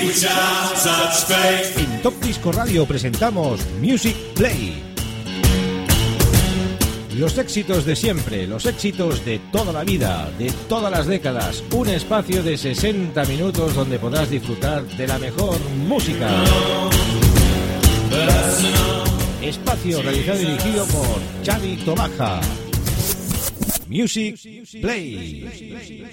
En Top Disco Radio presentamos Music Play. Los éxitos de siempre, los éxitos de toda la vida, de todas las décadas. Un espacio de 60 minutos donde podrás disfrutar de la mejor música. Espacio realizado y dirigido por Xavi Tobaja. Music Play.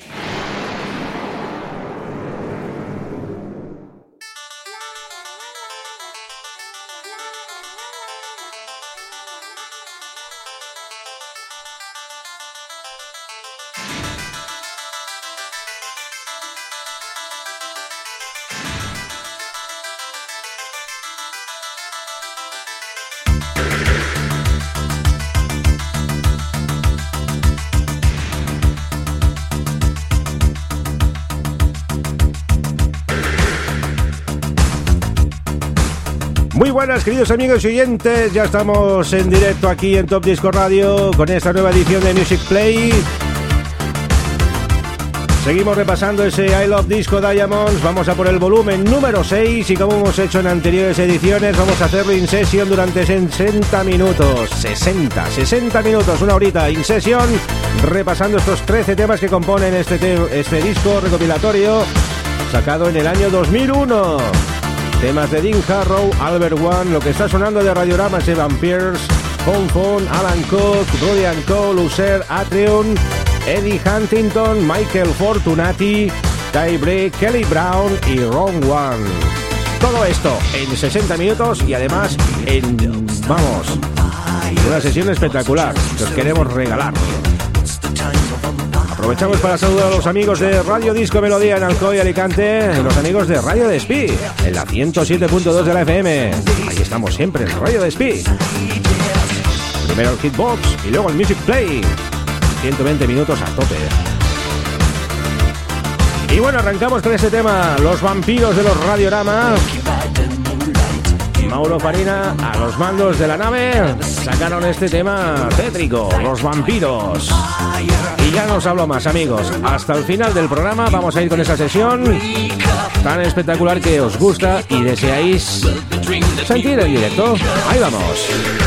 Muy buenas, queridos amigos y oyentes, ya estamos en directo aquí en Top Disco Radio con esta nueva edición de Music Play. Seguimos repasando ese I Love Disco Diamonds, vamos a por el volumen número 6 y como hemos hecho en anteriores ediciones vamos a hacerlo in session durante 60 minutos, 60 minutos, una horita in session, repasando estos 13 temas que componen este disco recopilatorio sacado en el año 2001. Temas de Dean Harrow, Albert One, lo que está sonando de Radiorama es Evan Pierce, Phone, Alan Cook, Rudy & Cole, User, Atrium, Eddie Huntington, Michael Fortunati, Ty Break, Kelly Brown y Ron One. Todo esto en 60 minutos y además en, una sesión espectacular que os queremos regalar. Aprovechamos para saludar a los amigos de Radio Disco Melodía en Alcoy, Alicante, y los amigos de Radio Despí, en la 107.2 de la FM. Ahí estamos siempre en Radio Despí. Primero el Hitbox y luego el Music Play. 120 minutos a tope. Y bueno, arrancamos con este tema, Los Vampiros de los Radiorama. Mauro Farina a los mandos de la nave sacaron este tema tétrico, Los Vampiros. Y ya no os hablo más, amigos. Hasta el final del programa vamos a ir con esa sesión tan espectacular que os gusta y deseáis sentir en directo. Ahí vamos.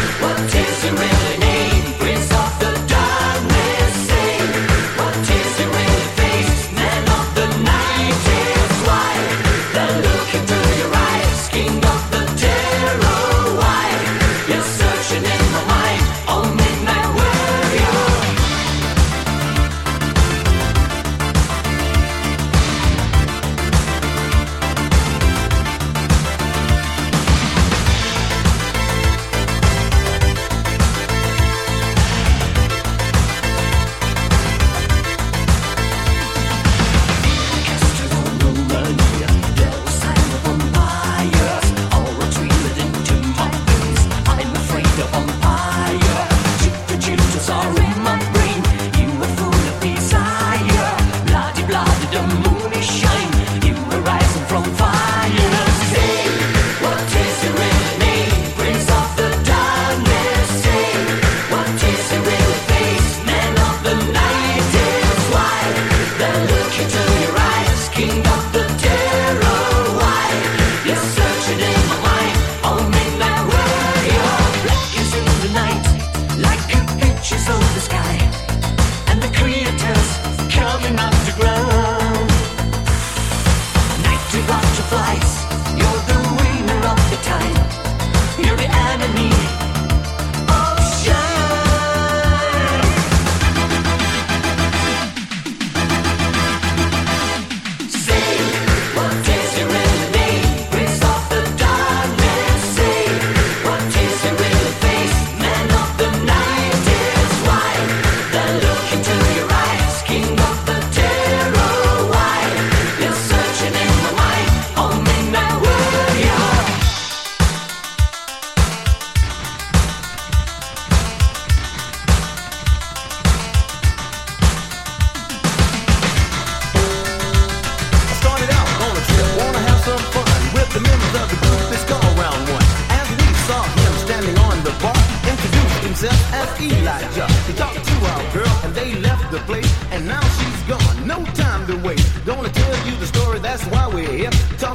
himself as Elijah. He talked to our girl and they left the place, and now she's gone. No time to waste. Gonna tell you the story, that's why we're here. Talking about the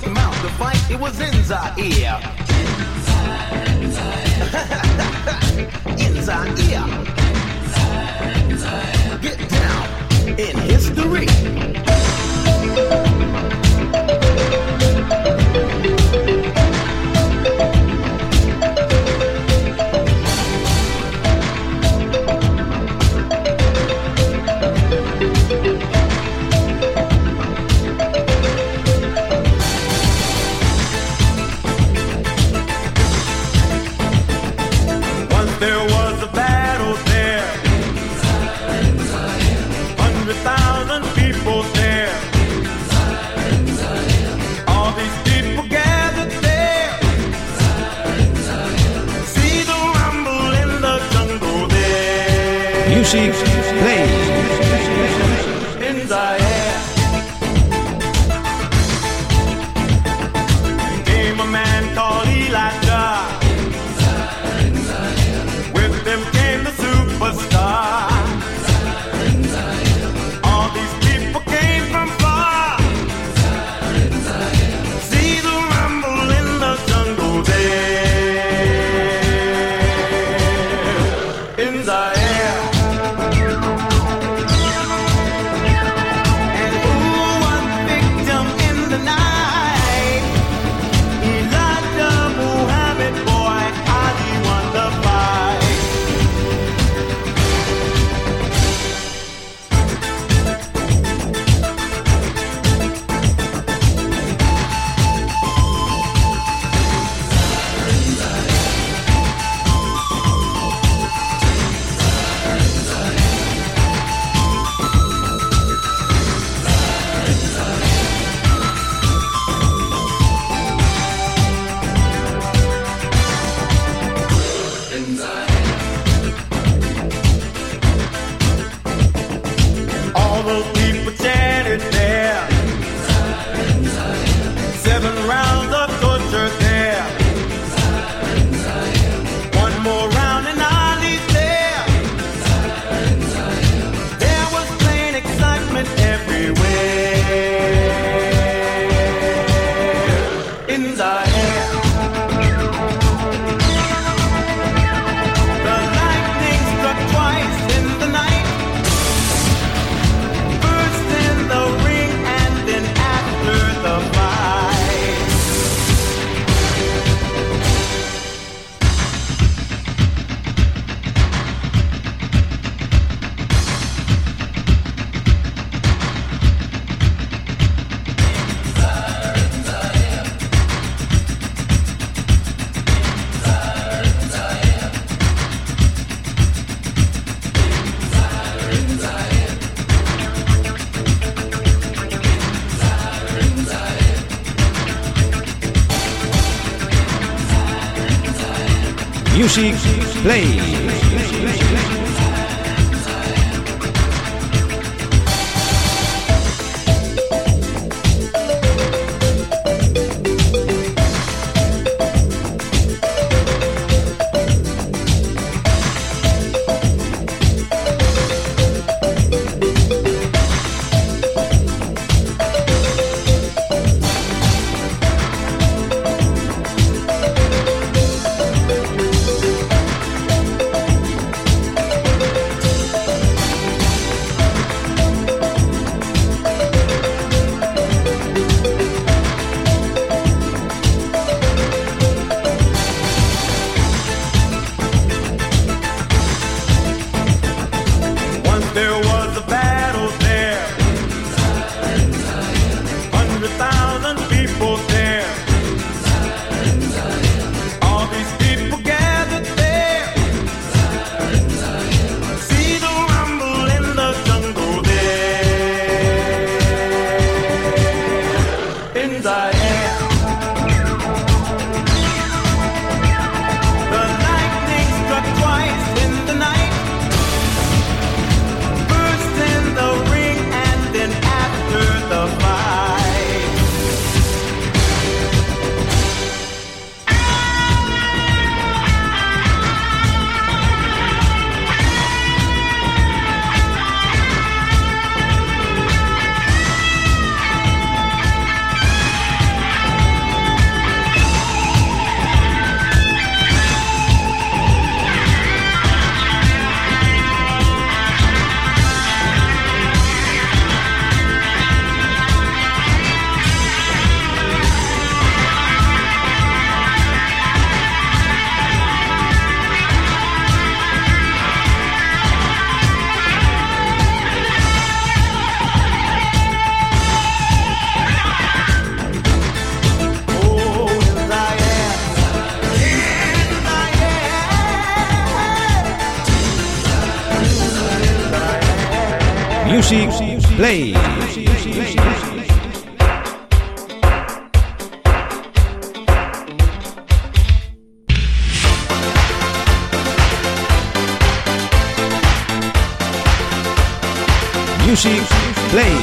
the fight, it was in Zaire. In Zaire. Get down in history. There was a battle there. 100,000 people there. All these people gathered there. See the rumble in the jungle there. Music Play. In Zaire came a man called Elijah. With them came the superstar. All these people came from far. See the rumble in the jungle there. In Zaire. And who was the victim in the night? Elijah Muhammad, boy, Ali won the fight. All those people chanted there. 7 rounds of torture there. One more round and Ali's there. There was plain excitement everywhere. In Zaire. The lightning struck twice in the night. First in the ring and then after the fight. Music Play. Music Play. Music Play.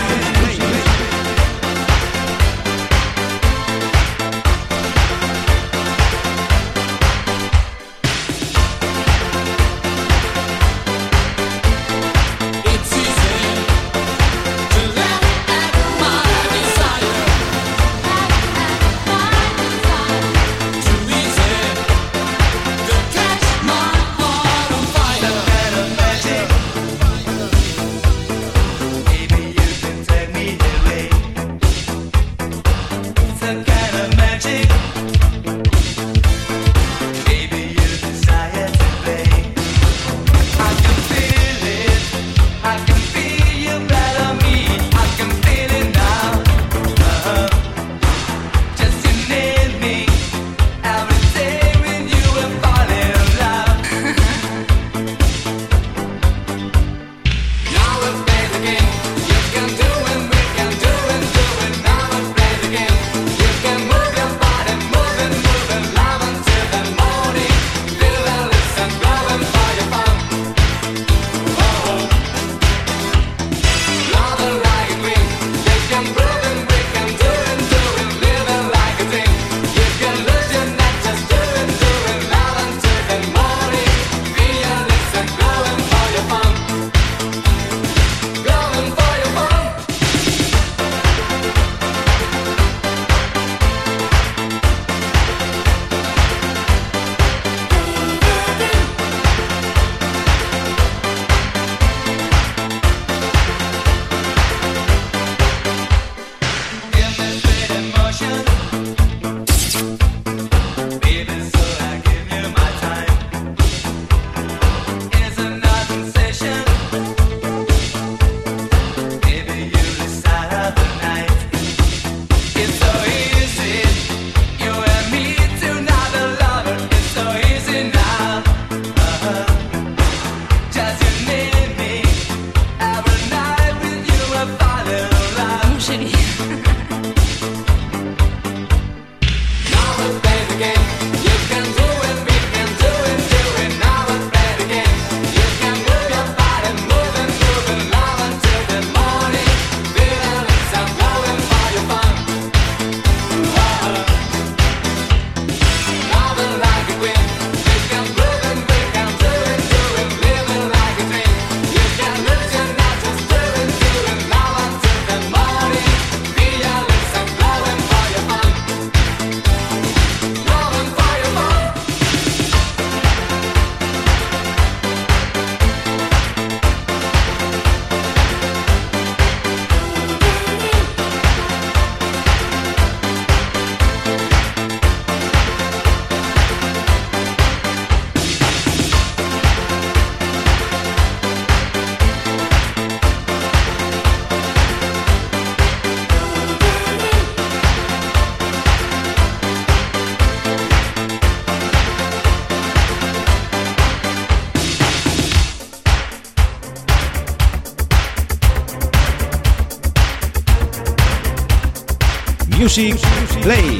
Music Play.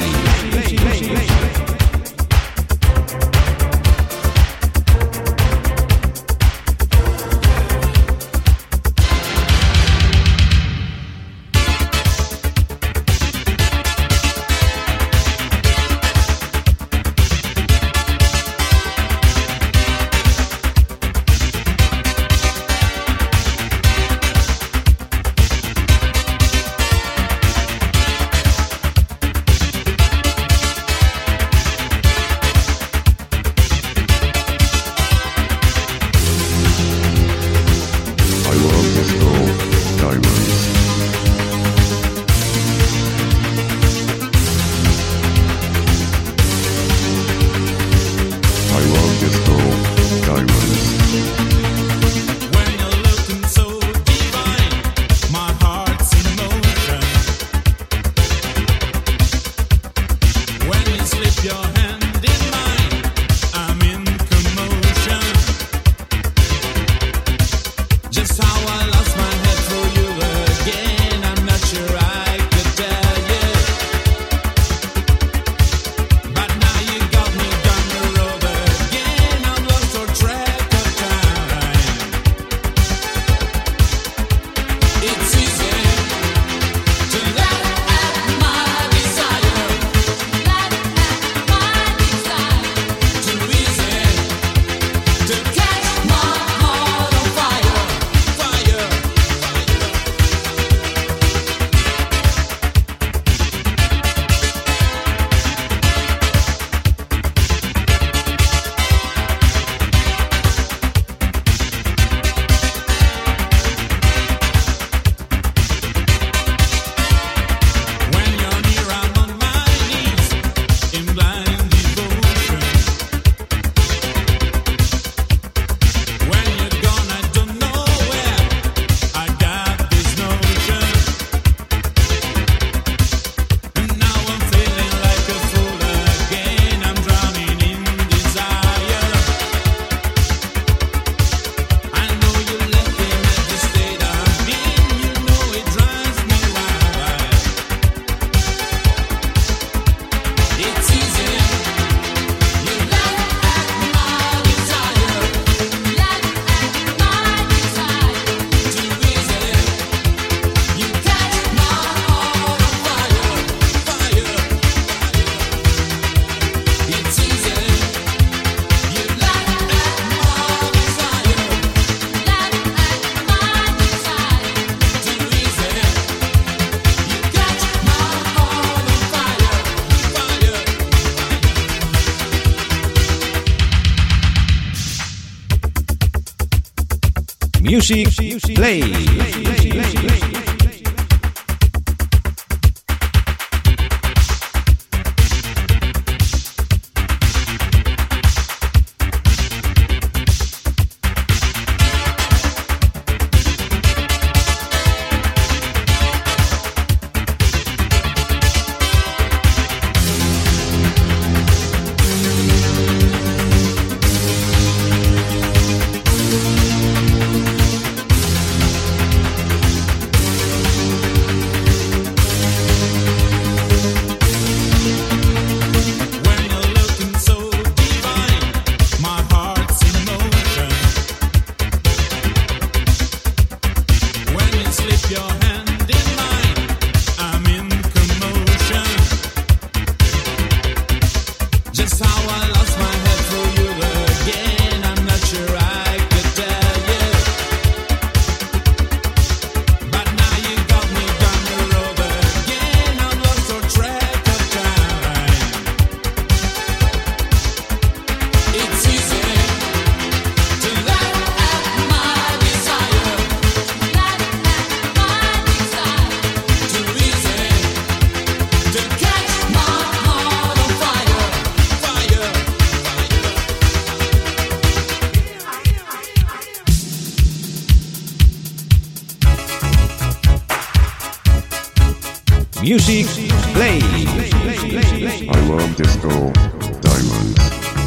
Music Play. Music Play. I love disco diamonds.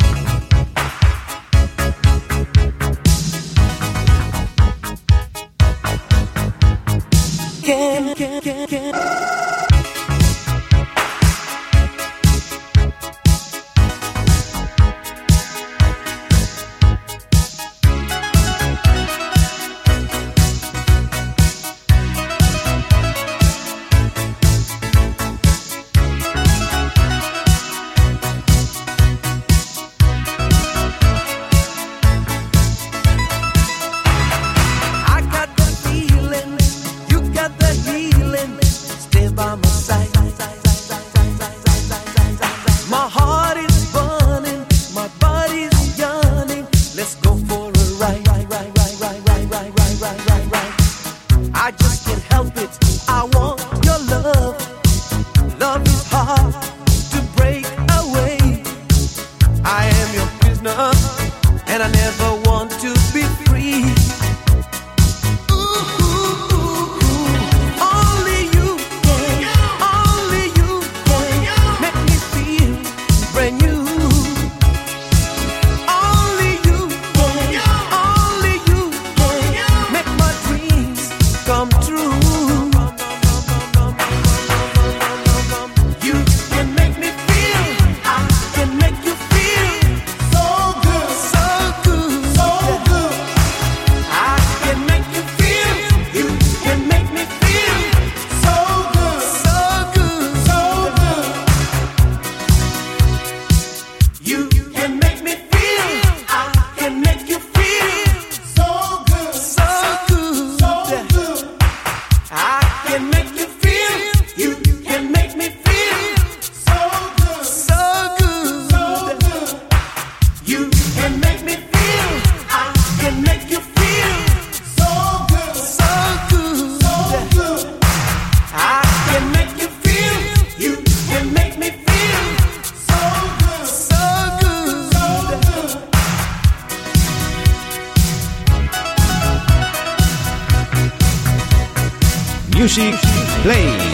Music Play.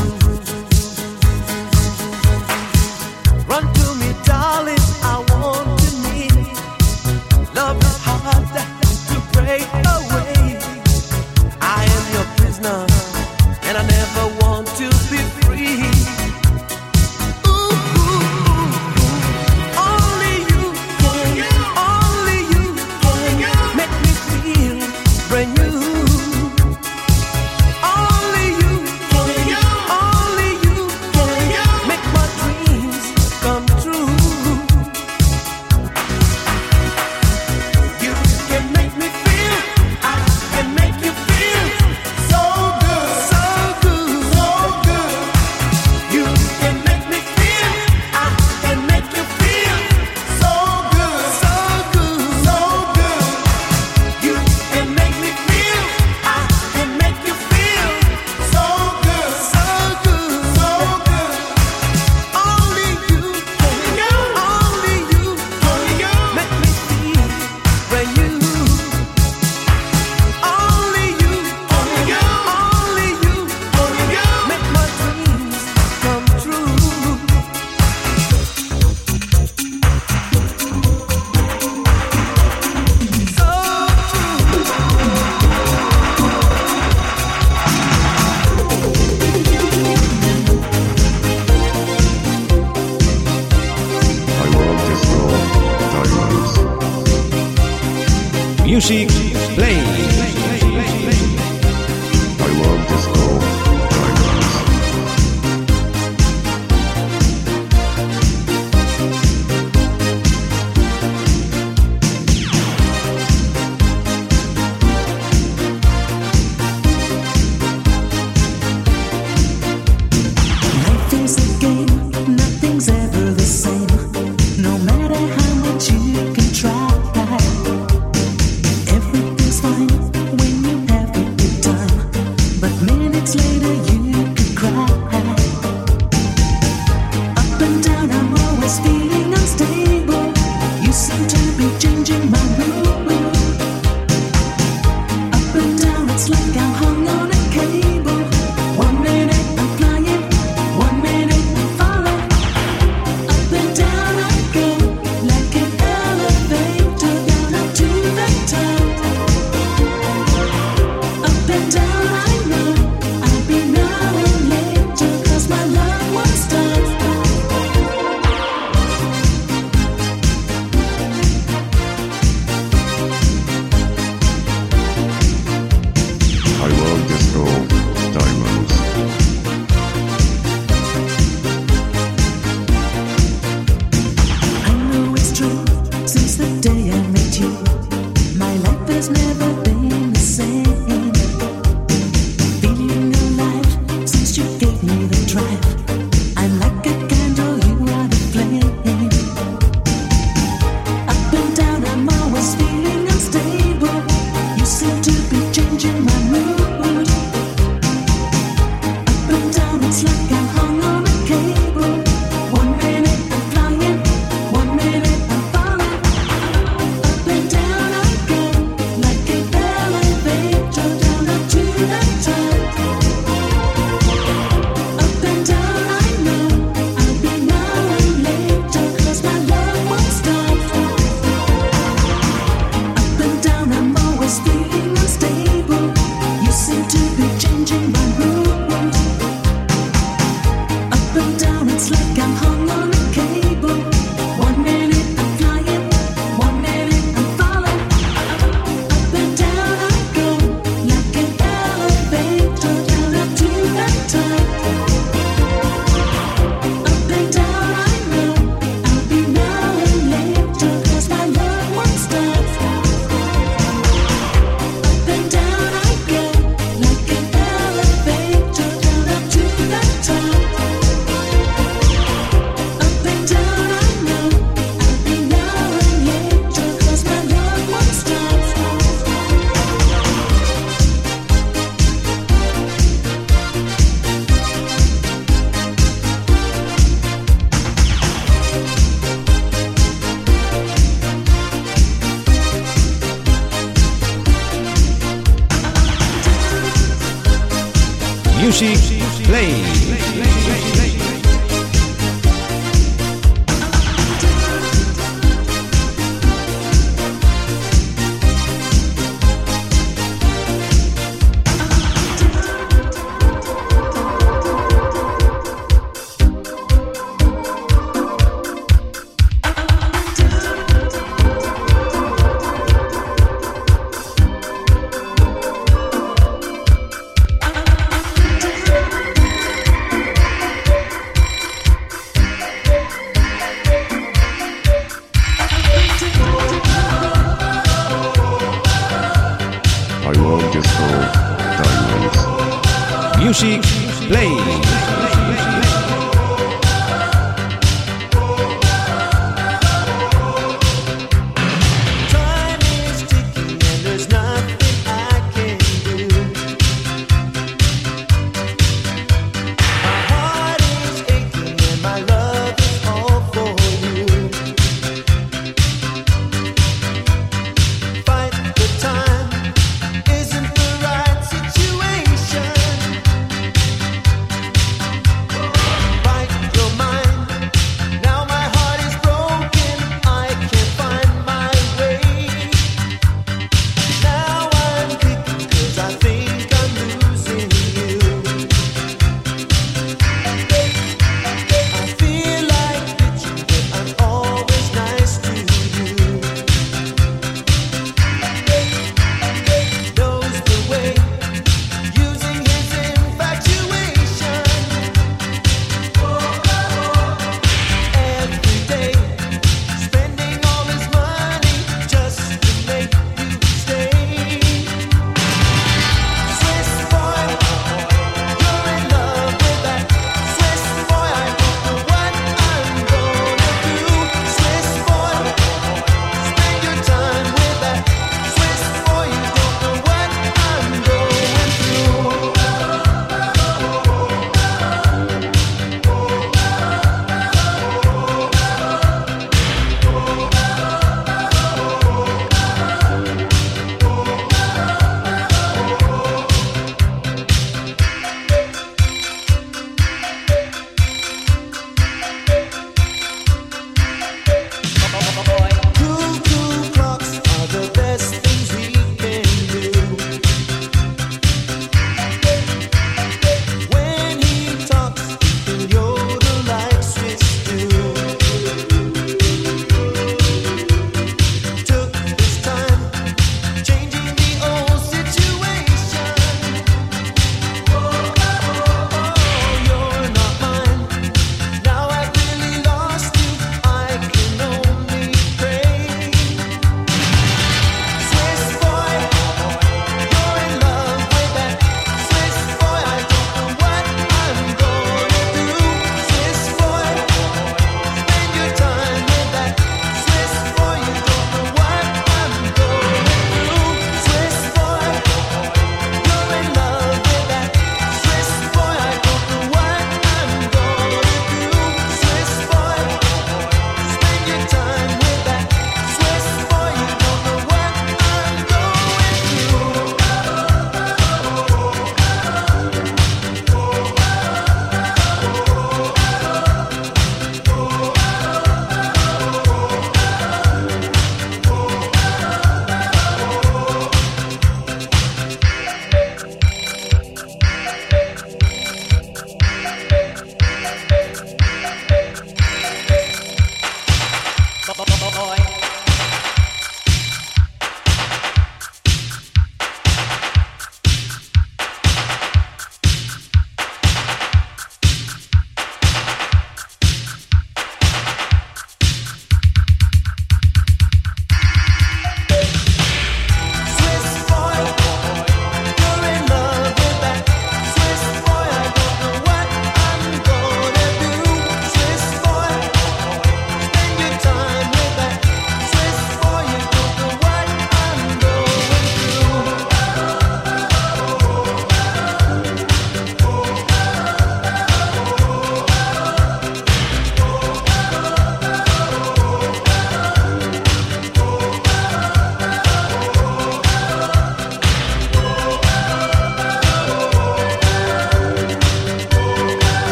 Run to me, darling, I want Music Play. I love disco diamonds. Life is a game, nothing's ever the same. No matter how much you can try, everything's fine when you have a good time. But minutes later you could cry. Up and down, I'm always feeling unstable. You seem to be changing my mood. Up and down, it's like I'm hung on a cable. 1 minute I'm flying, 1 minute I'm falling. Up and down I go, like an elevator, down up to the top. Up and down I know, I'll be now and later, 'cause my love won't stop. I love disco diamonds. I know it's true, since the day I met you, my life has never been the same. Feeling alive, since you gave me the drive. I'm like a candle, you are the flame. Up and down, I'm always feeling unstable. You seem to be changing my mood. Up and down, it's like I'm hung on a cable. 1 minute I'm flying, 1 minute I'm falling. Up and down I go, like an elevator, down up to the top. Up and down I know, I'll be now and later, 'cause my love won't stop. Up and down, I'm always feeling unstable. You seem to be changing my mood. Up and down, it's like I'm hung on a cable. 1 minute I'm flying, 1 minute I'm falling. Up and down I go, like an elevator, down up to the top. Up and down I know, I'll be now and later, 'cause my love won't stop. Up and down I go, like an elevator, down up to the top. Up and down I know, I'll be now and later, 'cause my love won't stop. Music Play. I love disco diamonds. Music Play. Time is ticking and there's nothing I can do. My heart is aching and my love is all for you. Fight the time isn't the right situation.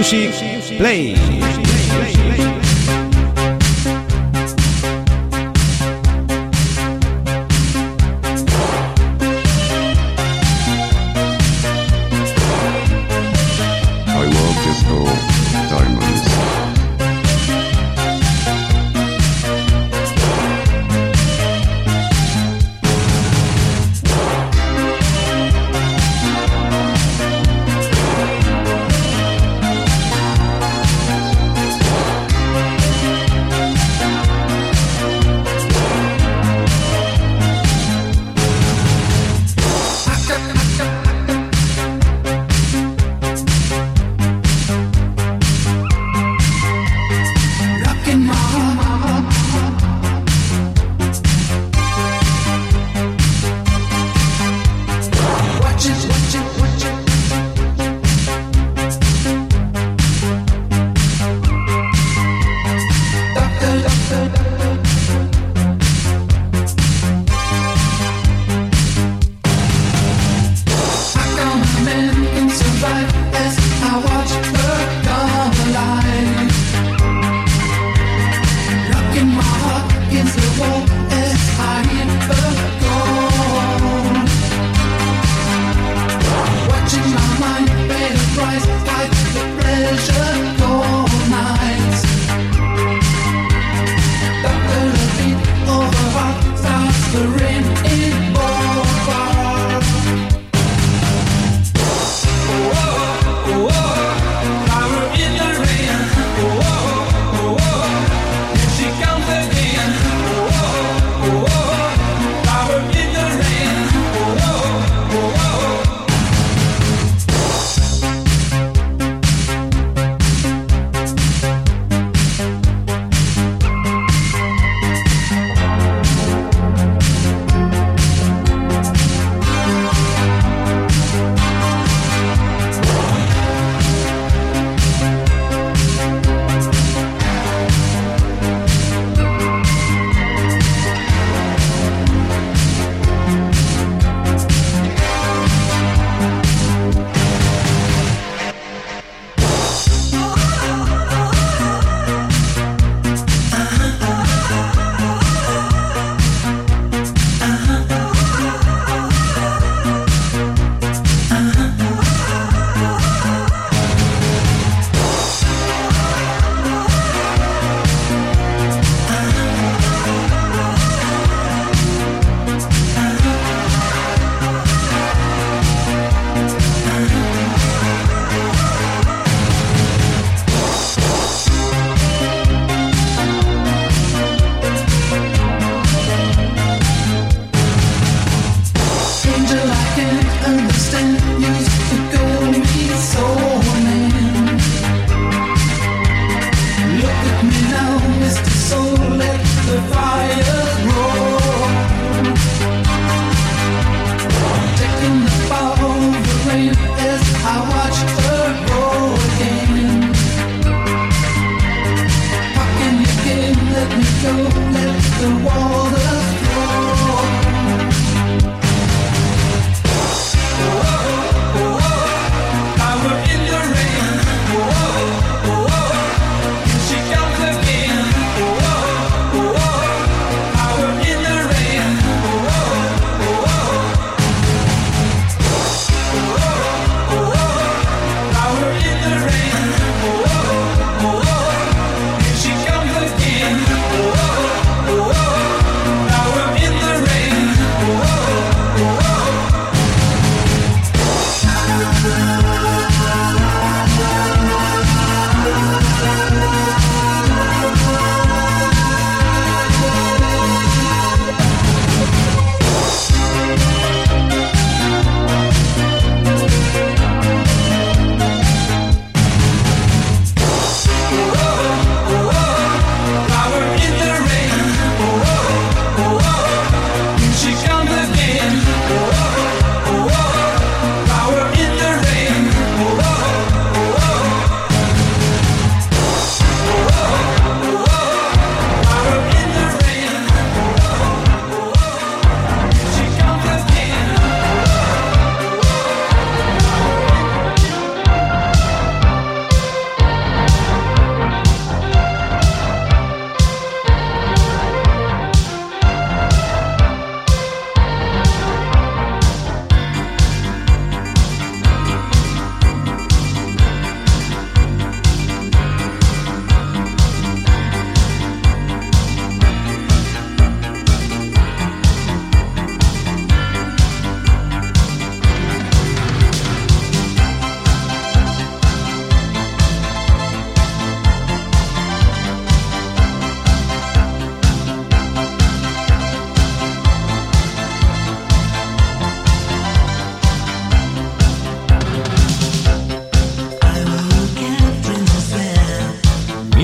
Music Play. I love disco diamonds.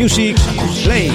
Music Play.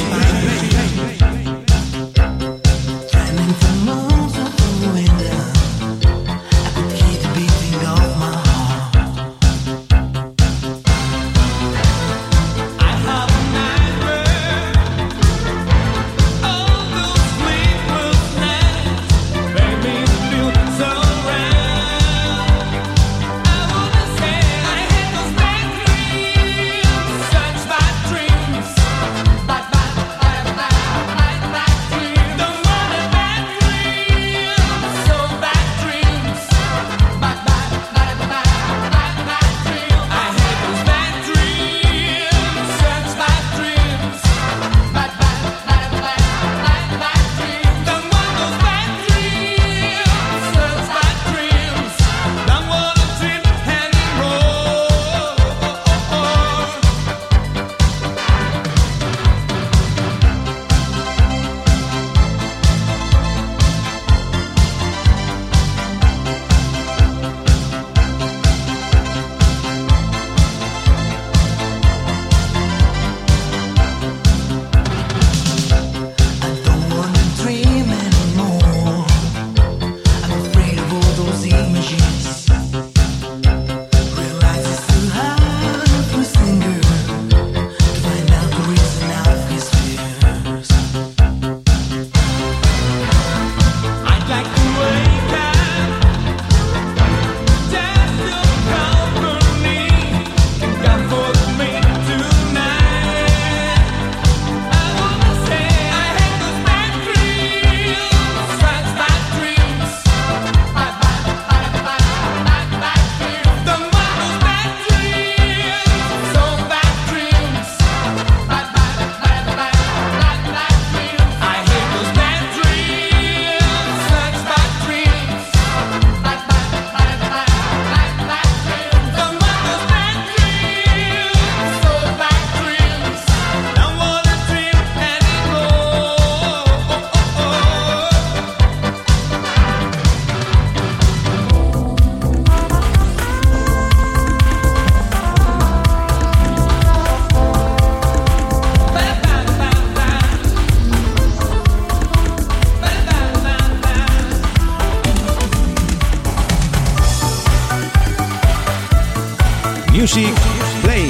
Music Play.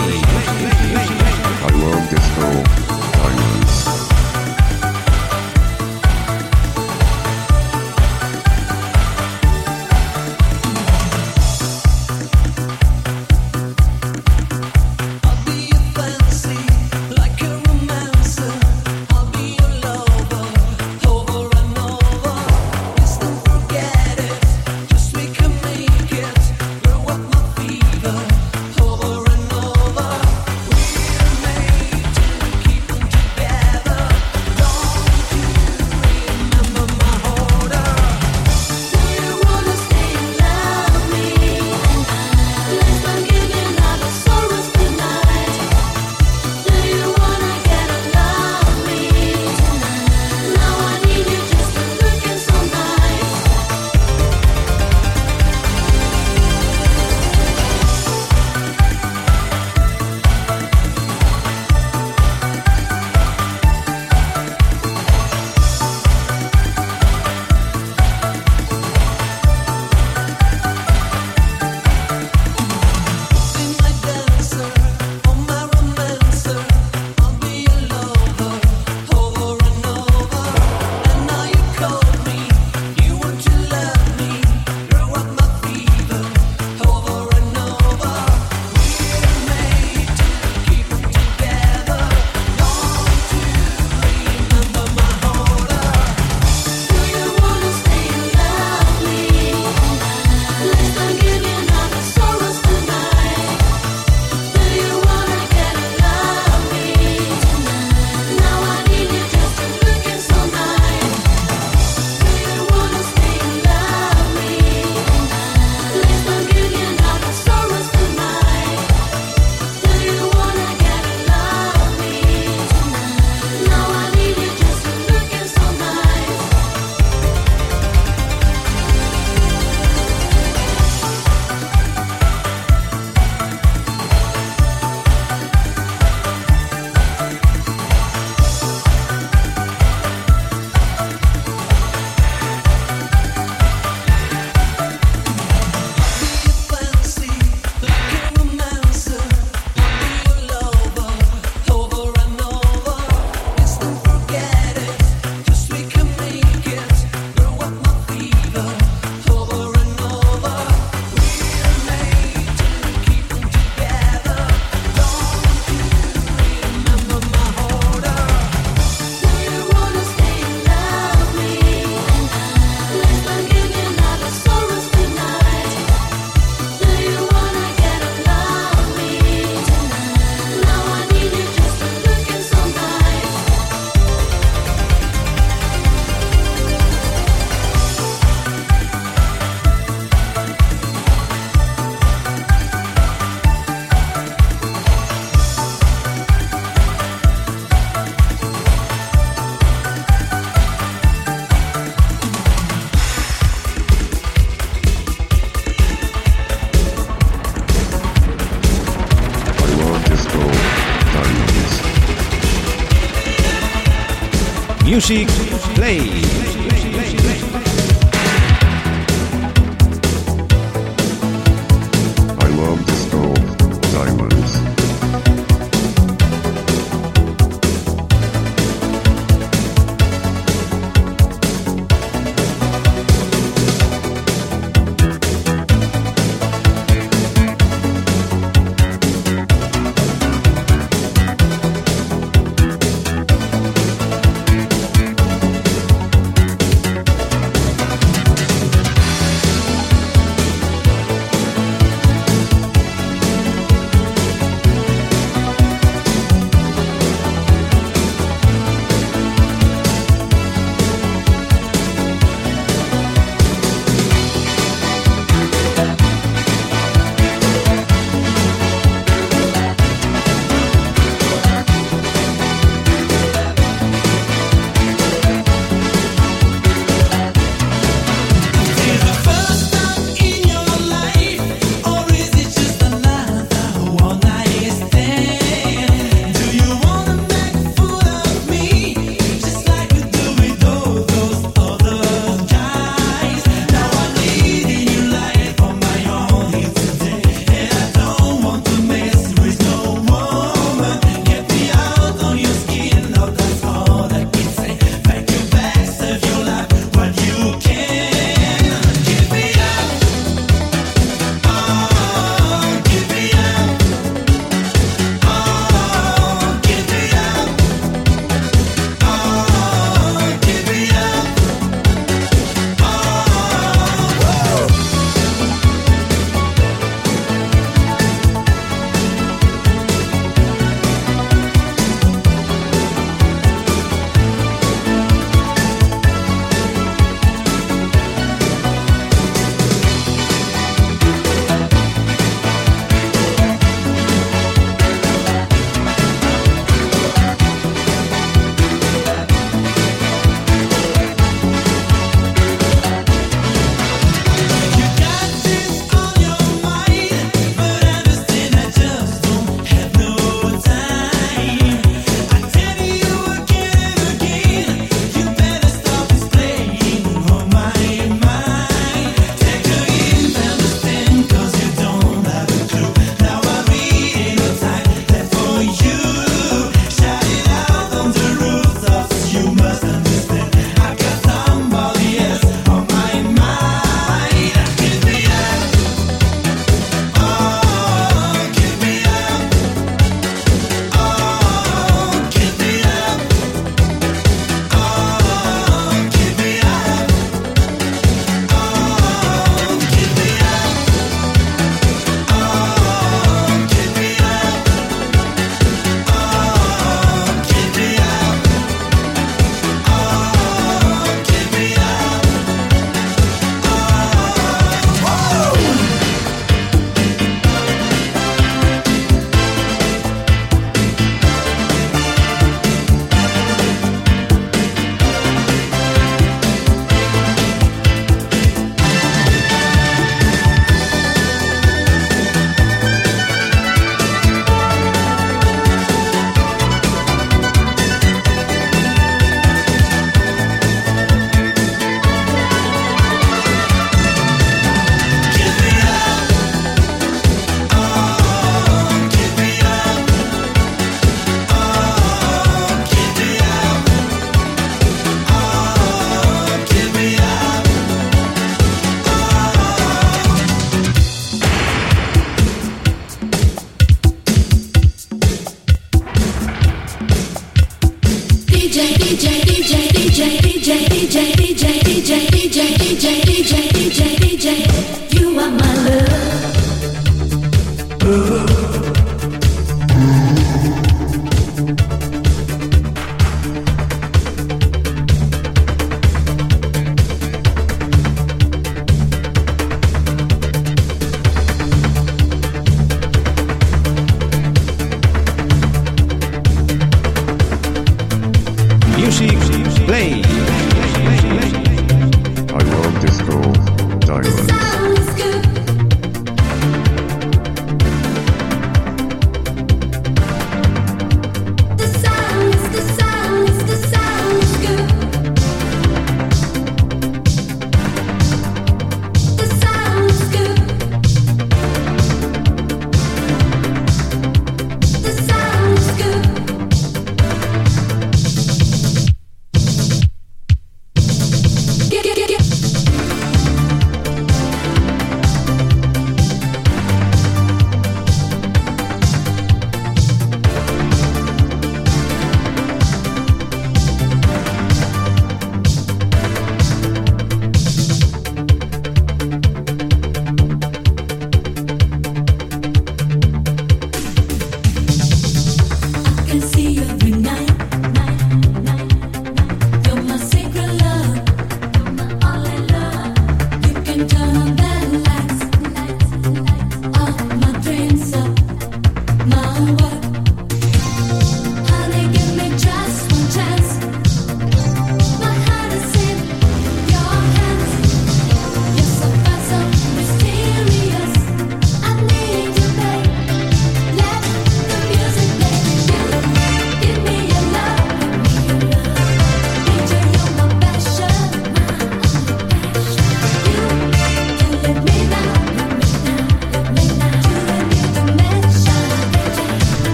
I love disco diamonds. Keep Music Play. I love disco diamonds.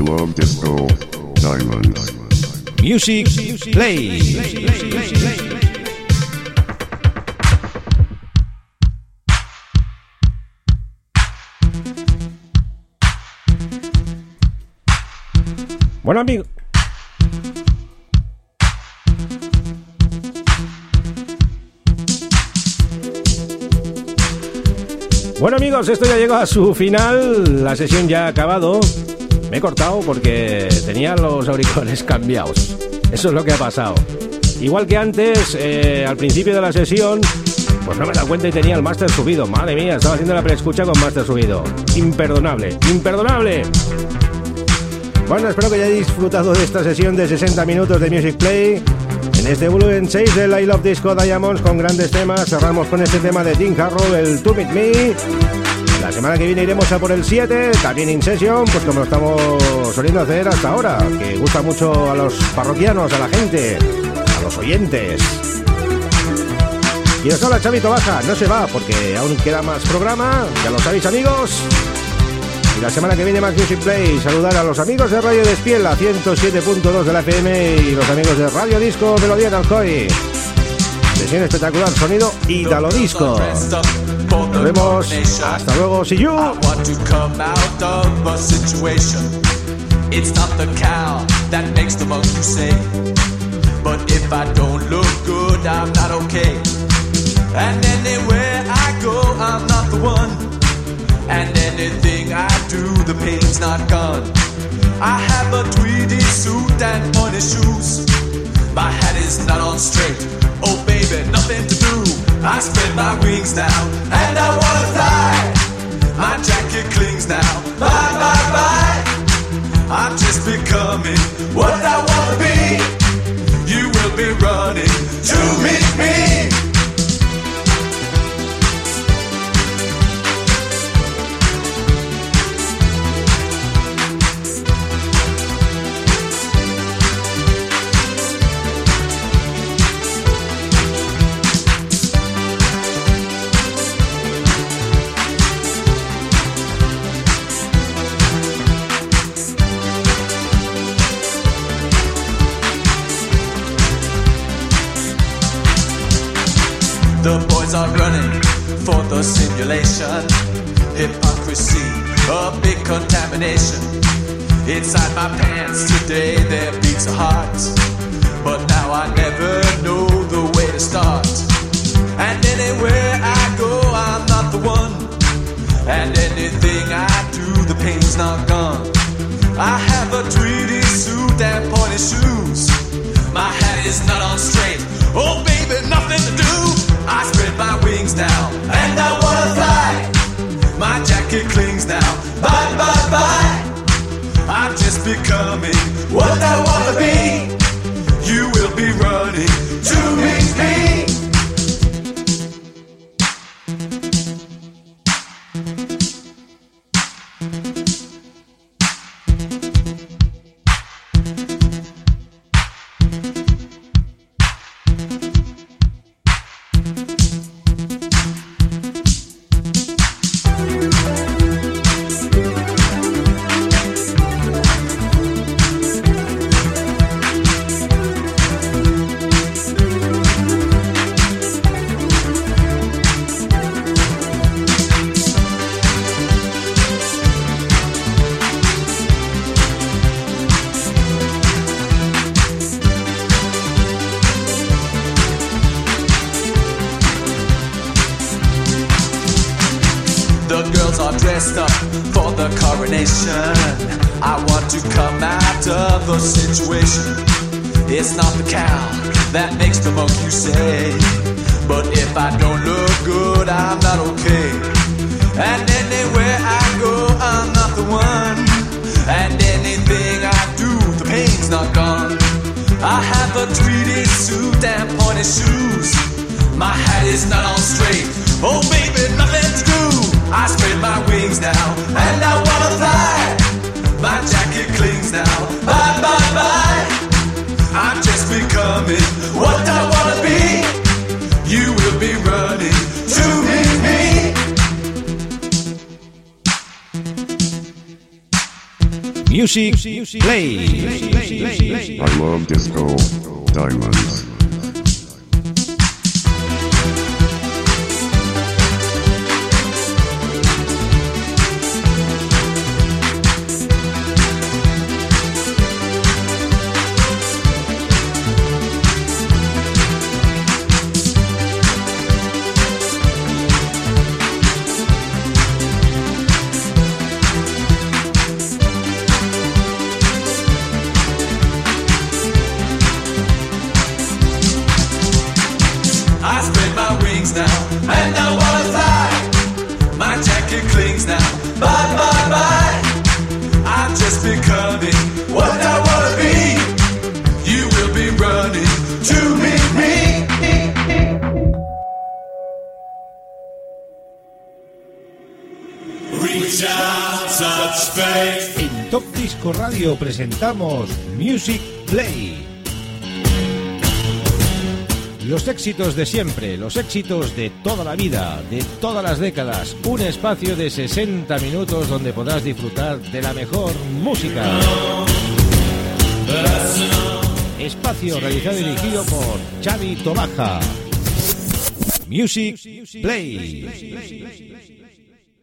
Love Disco Diamonds. Music Play. Bueno, amigo. Bueno, amigos, esto ya llegó a su final. La sesión ya ha acabado. Me he cortado porque tenía los auriculares cambiados. Eso es lo que ha pasado. Igual que antes, al principio de la sesión, pues no me he dado cuenta y tenía el máster subido. Madre mía, estaba haciendo la preescucha con máster subido. Imperdonable, imperdonable. Bueno, espero que hayáis disfrutado de esta sesión de 60 minutos de Music Play. En este volumen 6 del I Love Disco Diamonds con grandes temas. Cerramos con este tema de Tim Harrow, el To Meet Me. La semana que viene iremos a por el 7, también in session, pues como lo estamos soliendo hacer hasta ahora, que gusta mucho a los parroquianos, a la gente, a los oyentes. Y os habla Chavito Baja, no se va porque aún queda más programa, ya lo sabéis, amigos. Y la semana que viene más Music Play. Saludar a los amigos de Radio Despiel, la 107.2 de la FM, y los amigos de Radio Disco Melodía en Alcoy. Sesión espectacular, sonido Italo Disco. Nos vemos, hasta luego, see you. I want to come out of a situation. It's not the cow that makes the monkey say. But if I don't look good, I'm not okay. And anywhere I go, I'm not the one. And anything I do, the pain's not gone. I have a tweedy suit and pointy shoes. My hat is not on straight. Oh baby, nothing to do. I spread my wings now, and I wanna fly. My jacket clings now, bye, bye, bye. I'm just becoming what I wanna be. You will be running to meet me. The boys are running for the simulation. Hypocrisy, a big contamination. Inside my pants today there beats a heart. But now I never know the way to start. And anywhere I go I'm not the one. And anything I do the pain's not gone. I have a tweedy suit and pointy shoes. My hat is not on straight. Oh baby, nothing to do. I spread my wings now, and I wanna fly. My jacket clings now, bye, bye, bye. I'm just becoming what I wanna be. You will be running to meet me. Situation. It's not the cow that makes the monkey say. But if I don't look good, I'm not okay. And anywhere I go, I'm not the one. And anything I do, the pain's not gone. I have a tweedy suit and pointy shoes. My hat is not on straight. Oh baby, nothing to do. I spread my wings now, and I wanna fly. My jacket clings now, bye, bye, bye. I'm just becoming what I wanna be. You will be running to meet me. Music Play. I love disco diamonds. En Top Disco Radio presentamos Music Play. Los éxitos de siempre, los éxitos de toda la vida, de todas las décadas. Un espacio de 60 minutos donde podrás disfrutar de la mejor música. Espacio realizado y dirigido por Xavi Tobaja. Music Play.